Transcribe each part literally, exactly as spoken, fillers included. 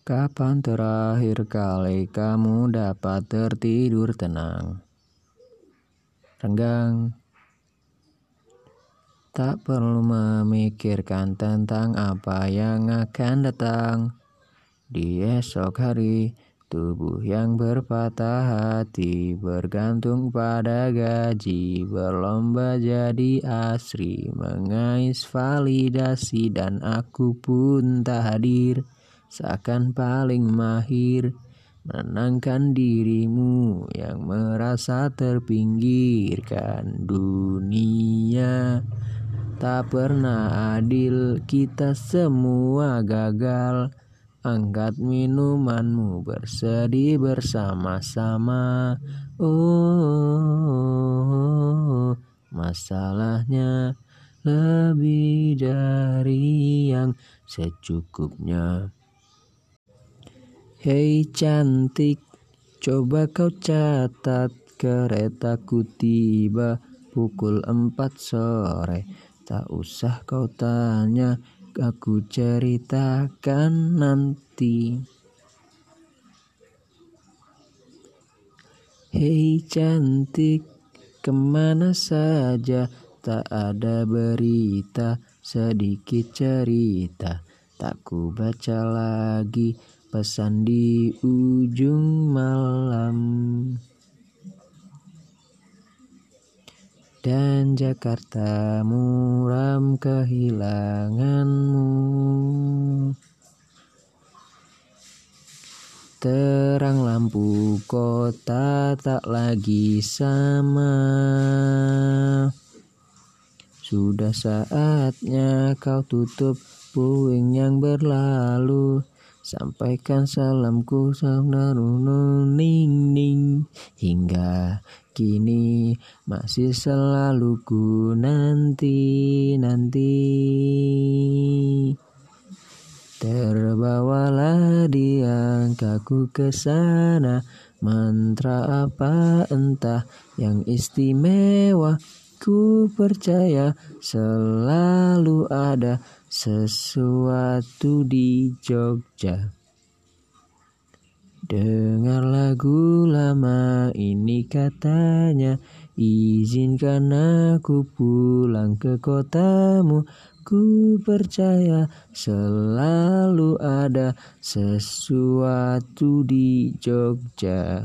Kapan terakhir kali kamu dapat tertidur tenang? Renggang. Tak perlu memikirkan tentang apa yang akan datang di esok hari. Tubuh yang berpatah hati bergantung pada gaji, berlomba jadi asri, mengais validasi, dan aku pun tak hadir. Seakan paling mahir menenangkan dirimu yang merasa terpinggirkan. Dunia tak pernah adil, kita semua gagal. Angkat minumanmu, bersedih bersama-sama. Oh, masalahnya lebih dari yang secukupnya. Hei cantik, coba kau catat, keretaku tiba pukul empat sore. Tak usah kau tanya, aku ceritakan nanti. Hei cantik, kemana saja? Tak ada berita, sedikit cerita. Tak ku baca lagi pesan di ujung malam. Dan Jakarta muram kehilanganmu. Terang lampu kota tak lagi sama. Sudah saatnya kau tutup puing yang berlalu. Sampaikan salamku ning ning. Hingga kini masih selalu ku nanti nanti. Terbawalah di angkaku ke sana. Mantra apa entah yang istimewa. Ku percaya selalu ada sesuatu di Jogja. Dengar lagu lama ini katanya, izinkan aku pulang ke kotamu. Ku percaya selalu ada sesuatu di Jogja.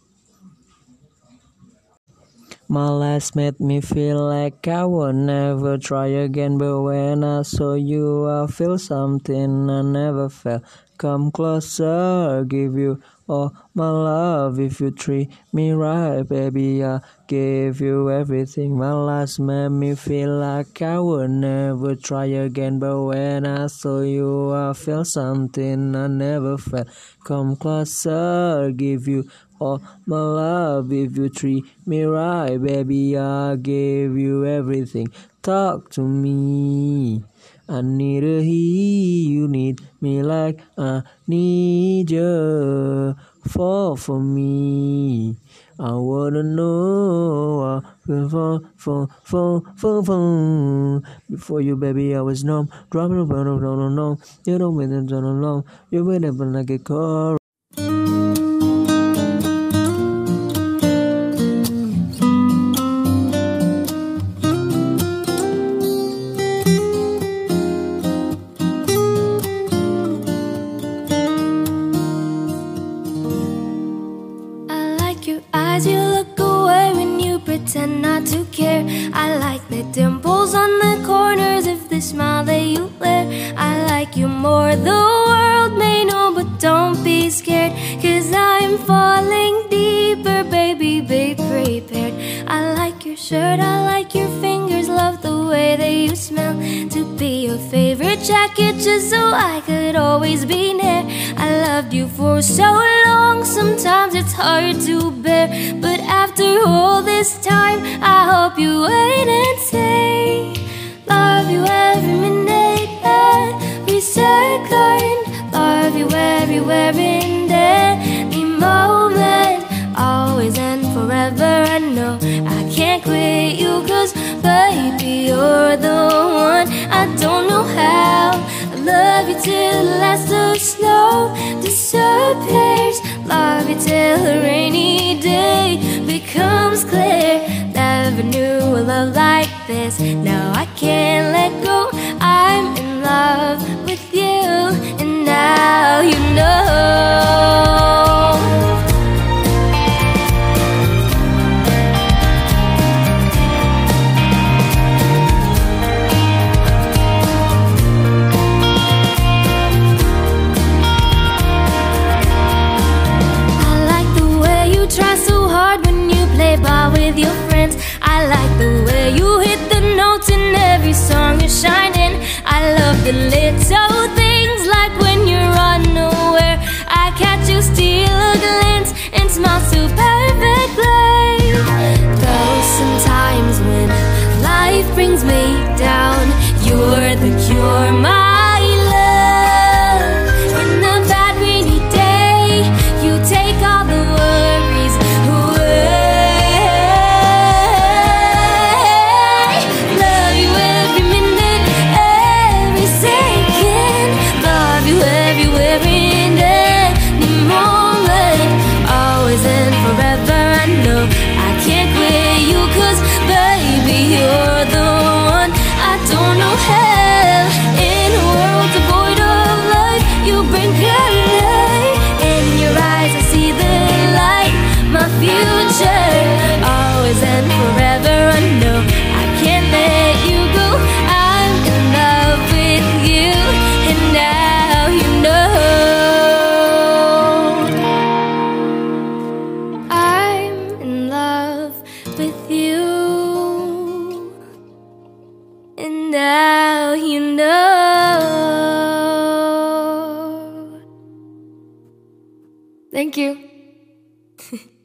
My last made me feel like I would never try again, but when I saw you I feel something I never felt. Come closer, give you all my love. If you treat me right, baby, I give you everything. My last made me feel like I would never try again, but when I saw you I feel something I never felt. Come closer, give you all my love. If you treat me right, baby, I give you everything. Talk to me, I need a he. You need me like I need you. Fall for me, I wanna know. I feel fall, fall, fall, fall, fall. Before you, baby, I was numb. Dropping around, no, no, no. You don't win it, don't know. You win it, but like a car. Eyes, you look away when you pretend not to care. I like the dimples on the corners of the smile that you wear. I like you more, the world may know, but don't be scared, 'cause I'm falling deeper, baby, be prepared. I like your shirt, I like your fingers, love the way that you smell. To be your favorite jacket just so I could always be near. I loved you for so long, sometimes it's hard to bear, but after all this time I hope you wait and stay. Love you every minute, every second. Love you everywhere in every moment. Always and forever, I know I can't quit you, 'cause baby, you're the one. I don't know how, I love you till the last of snow. Do till a rainy day becomes clear. Never knew a love like this. Now I can't let go. I'm in love with you, and now you know. With your friends, I like the way you hit the notes in every song you're shining. I love the little things like when you're unaware. I catch you steal a glance and smile so perfectly. Though sometimes when life brings me down, you're the cure, my love. In the bad rainy day, you take all the worries away. With you, and now you know. Thank you.